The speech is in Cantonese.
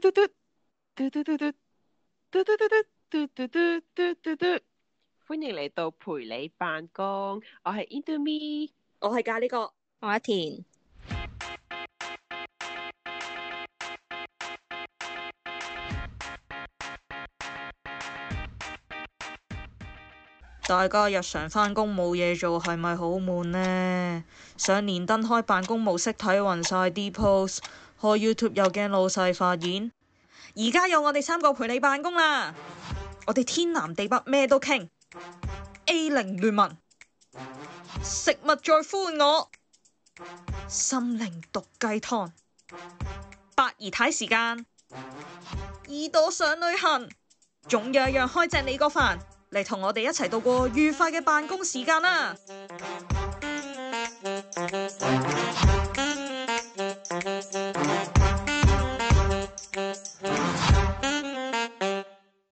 嘟嘟嘟嘟嘟嘟嘟嘟嘟嘟嘟嘟嘟嘟嘟，歡迎嚟到陪你辦公，我係 Indomie， 我係咖喱哥， 我係田。 大家日常返工冇嘢做，係咪好悶呢？上連登開辦公模式睇暈晒啲 post，開 YouTube 又驚老細發現。而家有我哋3個陪你辦公啦，我哋天南地北咩都傾。A0聯盟，食物在呼喚我，心靈毒雞湯，八姨太時間，耳朵想旅行，總有一樣開正你個飯。嚟同我哋一齊度過愉快嘅辦公時間啦！